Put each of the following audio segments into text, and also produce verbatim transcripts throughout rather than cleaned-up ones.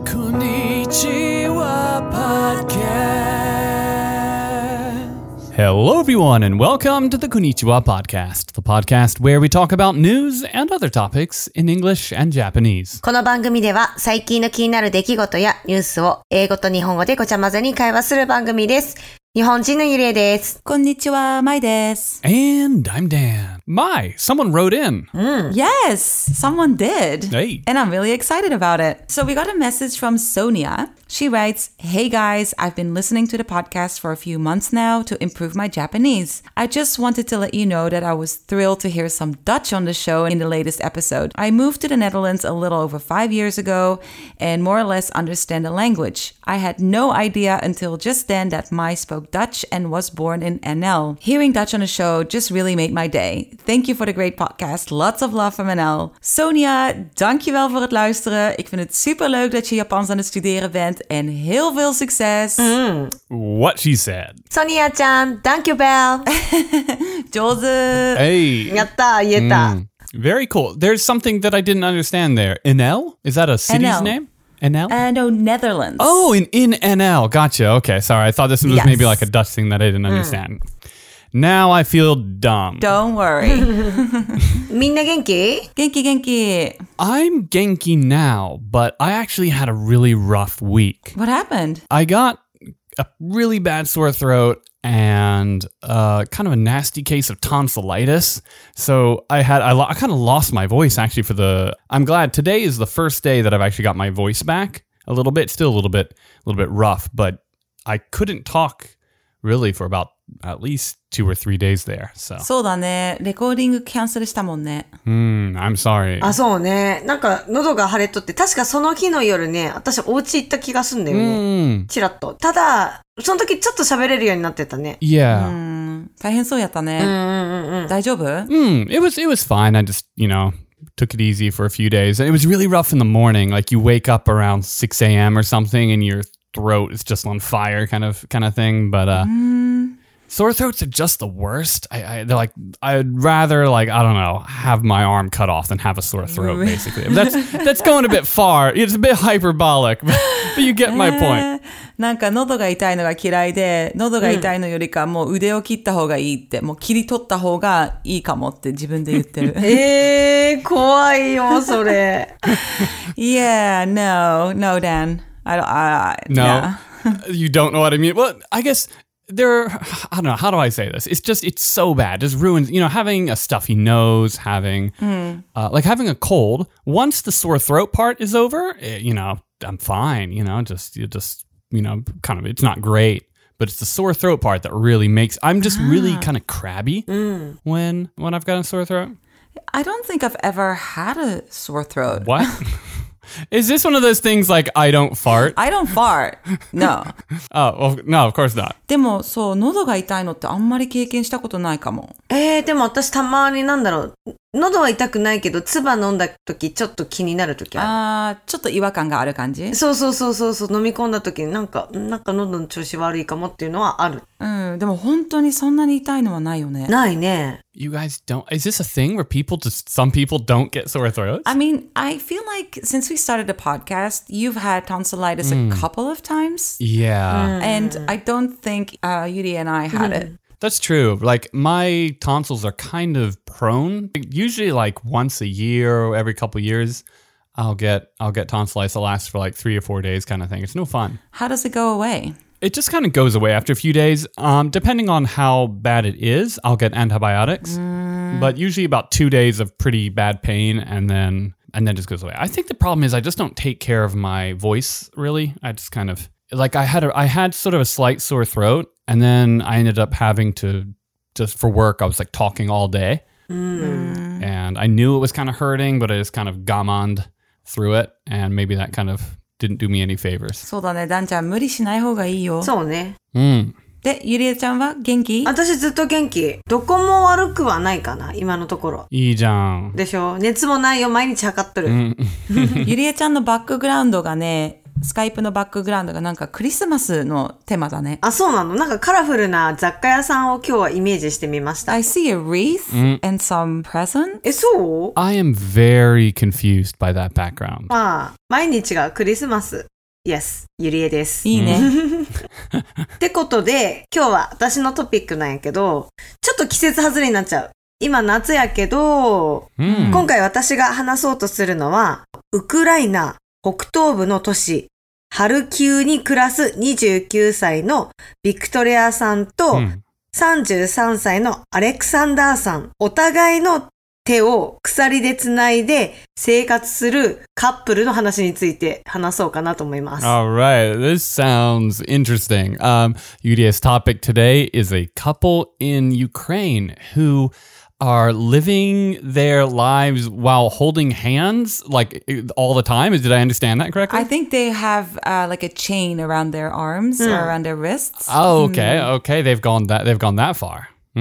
Konnichiwa Podcast. Hello, everyone, and welcome to the Konnichiwa Podcast, the podcast where we talk about news and other topics in English and Japanese. この番組では最近の気になる出来事やニュースを英語と日本語でごちゃ混ぜに会話する番組です。日本人のゆりえです。 こんにちは、まいです。 And I'm Dan. My, someone wrote in. Mm. Yes, someone did. Hey. And I'm really excited about it. So we got a message from Sonia. She writes, Hey guys, I've been listening to the podcast for a few months now to improve my Japanese. I just wanted to let you know that I was thrilled to hear some Dutch on the show in the latest episode. I moved to the Netherlands a little over five years ago and more or less understand the language. I had no idea until just then that Mai spoke Dutch and was born in N L. Hearing Dutch on the show just really made my day. Thank you for the great podcast. Lots of love from N L. Sonia, dankjewel voor het luisteren. Ik vind het superleuk dat je Japans aan het studeren bent en heel veel succes. Mm. What she said. Sonia ちゃん、thank you, Bell. 上手。 Hey. やった、言えた。 Mm. Very cool. There's something that I didn't understand there. N L? Is that a city's N L. name? N L? Uh, no, Netherlands. Oh, in, in N L. Gotcha. Okay, sorry. I thought this was Yes. maybe like a Dutch thing that I didn't understand. Now I feel dumb. Don't worry. みんな元気？ 元気元気。 I'm Genki now, but I actually had a really rough week. What happened? I got a really bad sore throat and uh, kind of a nasty case of tonsillitis. So I had I, lo- I kind of lost my voice actually for the. I'm glad today is the first day that I've actually got my voice back a little bit. Still a little bit a little bit rough, but I couldn't talk really for about at least two or three days there. So そうだね。レコーディングキャンセルしたもんね。 mm, I'm sorry. あ、そうね。なんか喉が腫れとって、確かその日の夜ね、私お家行った気がすんだよね。 Mm, チラッと。ただ、その時ちょっと喋れるようになってたね。 yeah. うん大変そうやったね。 うんうんうんうん。 大丈夫 Mm, it was it was fine. I just, you know, took it easy for a few days. And it was really rough in the morning. Like you wake up around six a.m. or something and your throat is just on fire kind of kind of thing. But uh sore throats are just the worst. I, I they're like I'd rather like I don't know have my arm cut off than have a sore throat. Basically, that's that's going a bit far. It's a bit hyperbolic, but, but you get my point. なんか喉が痛いのが嫌いで、喉が痛いのよりかもう腕を切った方がいいって、もう切り取った方がいいかもって自分で言ってる。 えー、怖いよ、それ。 Yeah, no, no, Dan. I don't, I, No, yeah. you don't know what I mean. Well, I guess there. I don't know. How do I say this? It's just it's so bad. Just ruins. You know, having a stuffy nose, having Mm. uh, like having a cold. Once the sore throat part is over, eh, you know, I'm fine. You know, just you just you know, kind of. It's not great, but it's the sore throat part that really makes. I'm just really kind of crabby Mm. when when I've got a sore throat. I don't think I've ever had a sore throat. What? Is this one of those things like I don't fart? I don't fart. No. Oh, well, no, of course not. でもそう、喉が痛いのってあんまり経験したことないかも。 えー、でも私たまになんだろう。喉は痛くないけど、唾飲んだ時ちょっと気になる時ある。 あー、ちょっと違和感がある感じ？ そうそうそうそうそう、飲み込んだ時になんか、なんか喉の調子悪いかもっていうのはある。 うん、でも本当にそんなに痛いのはないよね。 ないね。 You guys don't. Is this a thing where people just some people don't get sore throats? I mean, I feel like since we started the podcast, you've had tonsillitis a couple of times. Yeah, And I don't think uh, Yuri and I had it. that's true. Like my tonsils are kind of prone. Usually, like once a year or every couple years, I'll get I'll get tonsillitis. It'll last for like three or four days, kind of thing. It's no fun. How does it go away? It just kind of goes away after a few days. Um, depending on how bad it is, I'll get antibiotics. But usually about two days of pretty bad pain, and then and then just goes away. I think the problem is I just don't take care of my voice really. I just kind of like I had a I had sort of a slight sore throat, and then I ended up having to just for work. I was like talking all day, and I knew it was kind of hurting, but I just kind of gammoned through it, and maybe that kind of didn't do me any favors. そうだね、ダンちゃん無理しない方がいいよ。 そうね。 Mm. で、ゆりえちゃんは元気？ 私ずっと元気。どこも悪くはないかな、今のところ。 いいじゃん。 でしょ？熱もないよ、毎日測っとる。 ゆりえちゃんのバックグラウンドがね、スカイプのバックグラウンドがなんかクリスマスのテーマだね。 あ、そうなの？なんかカラフルな雑貨屋さんを今日はイメージしてみました。 I see a wreath and some presents. え、そう？ I am very confused by that background. まあ、毎日がクリスマス。 Yes, ゆりえです。 いいね。 ってことで、今日は私のトピックなんやけど、ちょっと季節外れになっちゃう。今夏やけど、 うん、 今回私が話そうとするのは、ウクライナ北東部の都市、ハルキウに暮らすにじゅうきゅうさいのビクトリアさんと、 うんさんじゅうさんさいのアレクサンダーさん、お互いの手を鎖でつないで生活するカップルの話について話そうかなと思います。 All right, this sounds interesting. Um, Yudia's topic today is a couple in Ukraine who are living their lives while holding hands, like all the time. Did I understand that correctly? I think they have uh, like a chain around their arms or around their wrists. Oh, okay, okay. They've gone that. They've gone that far. うん、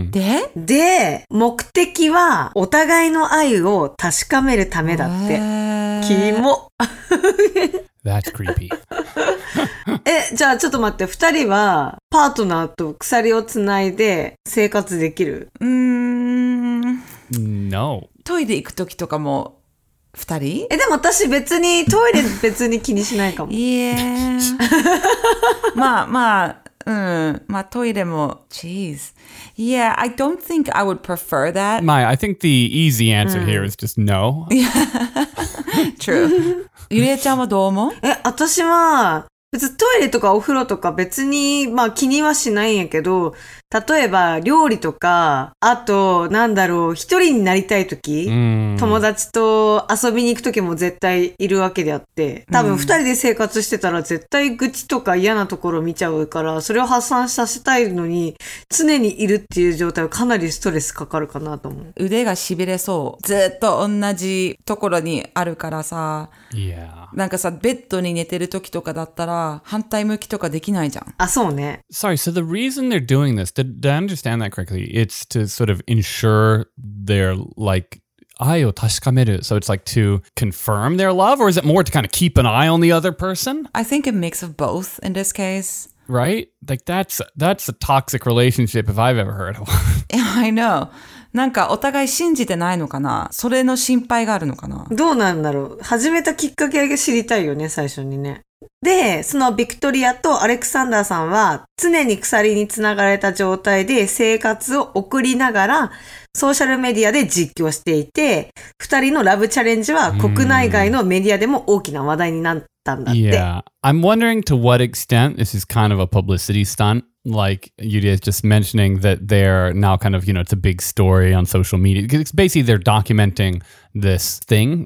でで、目的はお互いの愛を確かめるためだって。キモ。 That's creepy. え、じゃあちょっと待って、二人はパートナーと鎖をつないで生活できる？ うーん。 No. トイレ行くときとかも二人？ え、でも私別にトイレ別に気にしないかも。 いえ。まあまあ。うん。まあトイレも Jeez. Yeah, I don't think I would prefer that. My, I think the easy answer here is just no. True. ゆりえちゃんはどう思う？ え、私は別にトイレとかお風呂とか別にまあ気にはしないんやけど、例えば料理とか、あとなんだろう、一人になりたいとき、友達と遊びに行くときも絶対いるわけであって、多分二人で生活してたら絶対愚痴とか嫌なところ見ちゃうから、それを発散させたいのに常にいるっていう状態はかなりストレスかかるかなと思う。 腕がしびれそう。ずっと同じところにあるからさ。 Yeah. なんかさ、ベッドに寝てる時とかだったら反対向きとかできないじゃん。 あ、そうね。 Sorry, so the reason they're doing this, did, did I understand that correctly? It's to sort of ensure their, like, 愛を確かめる. So it's like to confirm their love, or is it more to kind of keep an eye on the other person? I think a mix of both in this case. Right? Like that's that's a toxic relationship if I've ever heard of one. I know. なんかお互い信じてないのかな？それの心配があるのかな？ どうなんだろう。始めたきっかけが知りたいよね、最初にね。で、そのビクトリアとアレクサンダーさんは常に鎖につながれた状態で生活を送りながらソーシャルメディアで実況していて、二人のラブチャレンジは国内外のメディアでも大きな話題になったんだって。 Yeah. I'm wondering to what extent this is kind of a publicity stunt. Like Yudia is just mentioning that they're now kind of, you know, it's a big story on social media. It's basically they're documenting this thing.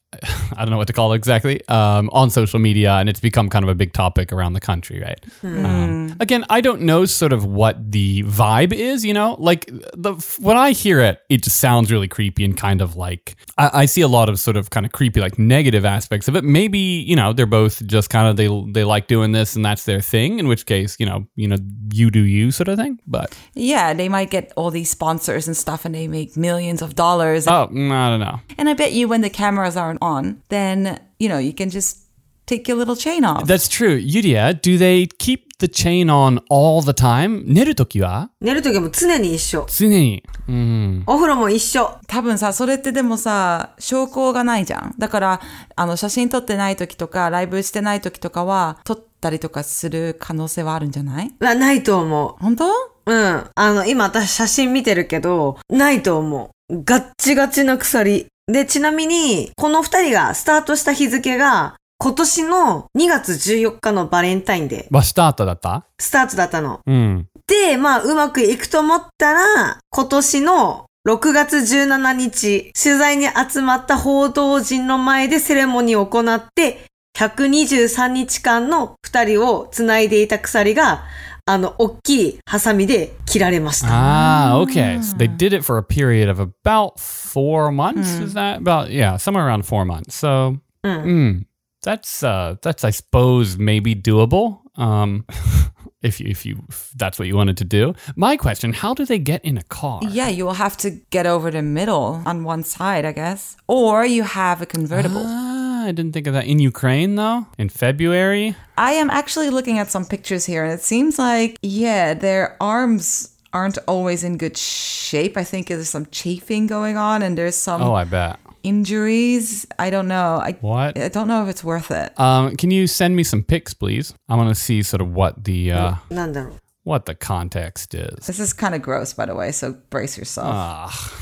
I don't know what to call it exactly, um, on social media, and it's become kind of a big topic around the country, right? Mm. Um, again, I don't know sort of what the vibe is, you know? Like, the when I hear it, it just sounds really creepy and kind of like, I, I see a lot of sort of kind of creepy, like negative aspects of it. Maybe, you know, they're both just kind of, they they like doing this and that's their thing, in which case, you know, you know, you do you sort of thing, but... Yeah, they might get all these sponsors and stuff and they make millions of dollars. Oh, I don't know. And I bet you when the cameras aren't on, then, you know, you can just take your little chain off. That's true. Yudia, do they keep the chain on all the time? 寝るときは？ 寝るときも常に一緒。 常に。うん。 お風呂も一緒。 多分さ、それってでもさ、証拠がないじゃん。だから、あの、写真撮ってないときとか、ライブしてないときとかは、撮ったりとかする可能性はあるんじゃない？ な、ないと思う。本当？ うん。あの、今私写真見てるけど、ないと思う。ガッチガチな鎖。で、ちなみに、この二人がスタートした日付が、今年のにがつじゅうよっかのバレンタインデー。 はスタートだった？ スタートだったの。 うん。 で、まあ、うまくいくと思ったら、今年のろくがつじゅうしちにち、取材に集まった報道陣の前でセレモニーを行って、ひゃくにじゅうさんにちかんの二人を繋いでいた鎖が、あの、大きいハサミで切られました。 Ah, okay. So they did it for a period of about four months? Mm. Is that about, yeah, somewhere around four months. So, mm. Mm, that's, uh, that's, I suppose, maybe doable. Um, if you, if you, if that's what you wanted to do. My question, how do they get in a car? Yeah, you will have to get over the middle on one side, I guess. Or you have a convertible. Ah, I didn't think of that. In Ukraine, though? In February? I am actually looking at some pictures here, and it seems like, yeah, their arms aren't always in good shape. I think there's some chafing going on, and there's some... Oh, I bet. injuries. I don't know. I, What? I don't know if it's worth it. Um, can you send me some pics, please? I want to see sort of what the uh, なんだろう。 what the context is. This is kind of gross, by the way, so brace yourself. Ah,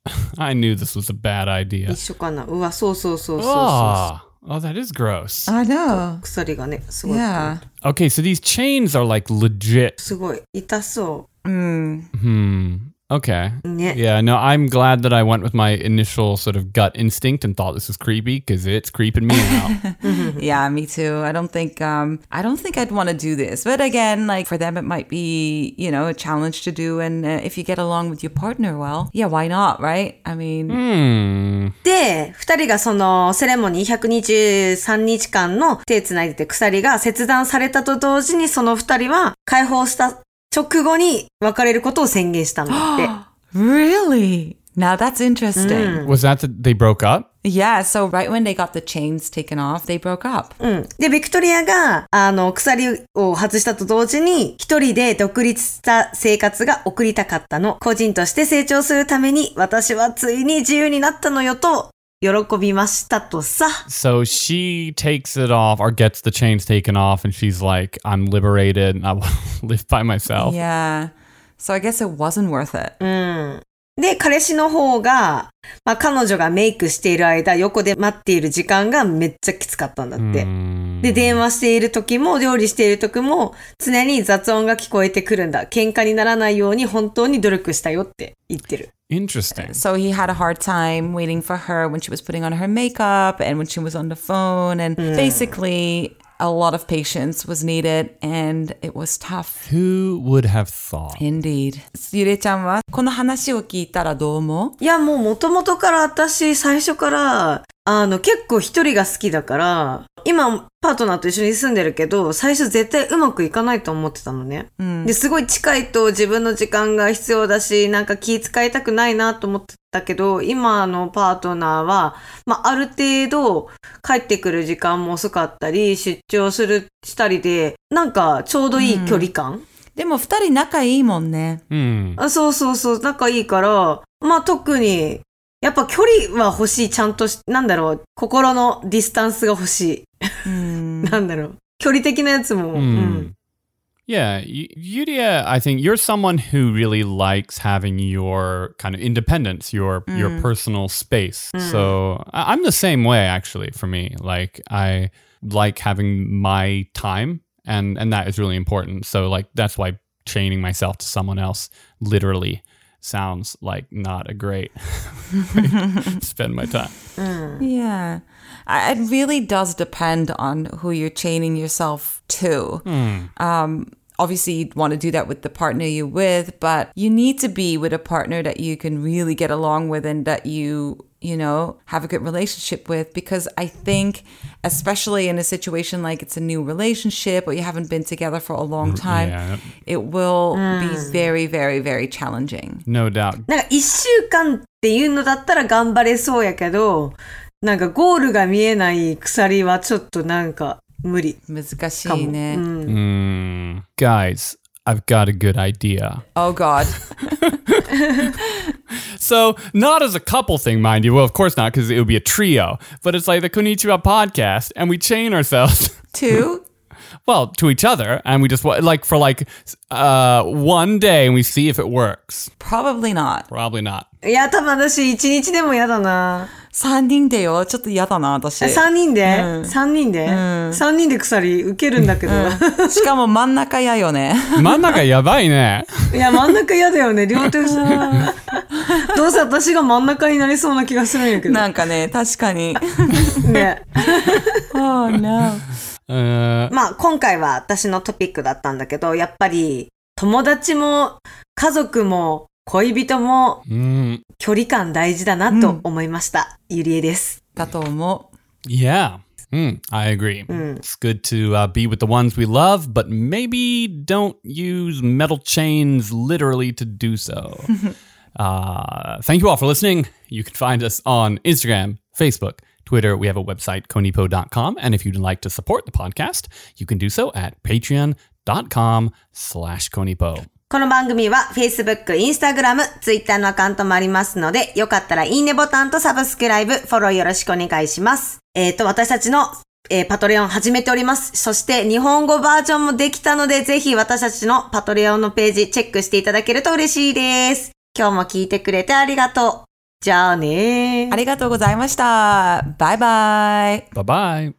I knew this was a bad idea. 一緒かな。うわ、そうそうそうそうそう。 Oh, oh, that is gross. I know. 鎖がね、すごい。 Yeah. Okay, so these chains are like legit. すごい。痛そ Mm. Hmm. Okay. う。ね。 Yeah, no, I'm glad that I went with my initial sort of gut instinct and thought this was creepy because it's creeping me out. Yeah, me too. I don't think um I don't think I'd want to do this. But again, like for them it might be, you know, a challenge to do, and uh, if you get along with your partner well, yeah, why not, right? I mean, Hmm. で、二人がそのセレモニーひゃくにじゅうさんにちかんの手つないでて鎖が切断されたと同時にその二人は解放した直後に別れることを宣言したんだって。 really? Now that's interesting. Was that that they broke up? Yeah, so right when they got the chains taken off, they broke up. うん。で、ビクトリアが、あの、鎖を外したと同時に、一人で独立した生活が送りたかったの。個人として成長するために、私はついに自由になったのよと、喜びましたとさ。 So she takes it off or gets the chains taken off and she's like, I'm liberated and I want to live by myself. Yeah. So I guess it wasn't worth it. うん。で、彼氏の方が、まあ、彼女がメイクしている間、横で待っている時間がめっちゃきつかったんだって。で、電話している時も、料理している時も、常に雑音が聞こえてくるんだ。喧嘩にならないように本当に努力したよって言ってる。 Interesting. So he had a hard time waiting for her when she was putting on her makeup and when she was on the phone. And basically, a lot of patience was needed and it was tough. Who would have thought? Indeed. ゆれちゃんはこの話を聞いたらどう思う？ いや、もう元々から私、最初から、あの、結構一人が好きだから、今、パートナーと一緒に住んでるけど、最初絶対うまくいかないと思ってたのね。で、すごい近いと自分の時間が必要だし、なんか気遣いたくないなと思ってたけど、今のパートナーは、まあ、ある程度帰ってくる時間も遅かったり、出張する、したりで、なんかちょうどいい距離感、 でも二人仲いいもんね。 Hmm. あ、そうそうそう、仲いいから、まあ特に、やっぱ距離は欲しい、ちゃんとし、なんだろう、心のディスタンスが欲しい。なんだろう、距離的なやつも。うん Yeah, y- Yuria, I think you're someone who really likes having your kind of independence, your your personal space. So I- I'm the same way, actually. For me, like I like having my time, and and that is really important. So like that's why chaining myself to someone else literally sounds like not a great way to spend my time. Yeah. I- It really does depend on who you're chaining yourself to. Um, obviously, you'd want to do that with the partner you're with, but you need to be with a partner that you can really get along with and that you, you know, have a good relationship with. Because I think, especially in a situation like it's a new relationship or you haven't been together for a long time, Yeah, it will be very, very, very challenging. no doubt. なんか一週間っていうのだったら頑張れそうやけど、なんかゴールが見えない鎖はちょっとなんか無理。 難しいね。 Mm. Guys, I've got a good idea. Oh, God. So, not as a couple thing, mind you. Well, of course not, because it would be a trio. But it's like the Konnichiwa podcast, and we chain ourselves, Two? well, to each other, and we just, wa- like, for like uh, one day, and we see if it works. Probably not. Probably not. いや、多分私一日でも嫌だな。 三人でよ。ちょっと嫌だな、私。 三人で、三人で、三人で鎖受けるんだけど。 しかも真ん中嫌よね。 真ん中やばいね。 いや、真ん中嫌だよね。両手後ろ。どうせ私が真ん中になりそうな気がするんやけど。 なんかね、確かに。 ね。 Oh, no. Uh, まあ、今回は私のトピックだったんだけど、やっぱり友達も家族も恋人も mm, 距離感大事だなと思いました。ゆりえです。 だと思う。 yeah. Mm, I agree. It's good to uh, be with the ones we love, but maybe don't use metal chains literally to do so. uh, thank you all for listening. You can find us on Instagram, Facebook, Twitter. We have a website, konipo dot com. And if you'd like to support the podcast, you can do so at patreon.com slash konipo. この番組は Facebook、Instagram、Twitter のアカウントもありますので、よかったらいいねボタンとサブスクライブ、フォローよろしくお願いします。えっと、私たちの、えー、パトレオン始めております。そして日本語バージョンもできたので、ぜひ私たちのパトレオンのページチェックしていただけると嬉しいです。今日も聞いてくれてありがとう。じゃあねー。 ありがとうございました。バイバイ。 バイバイ。